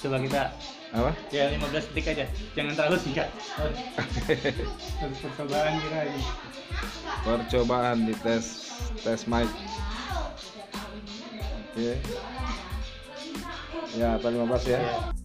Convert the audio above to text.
Coba kita Apa? ya 15 detik aja, jangan terlalu singkat. Harus percobaan kita ini. Percobaan di tes mic. Oke. Ya, atau 15 ya.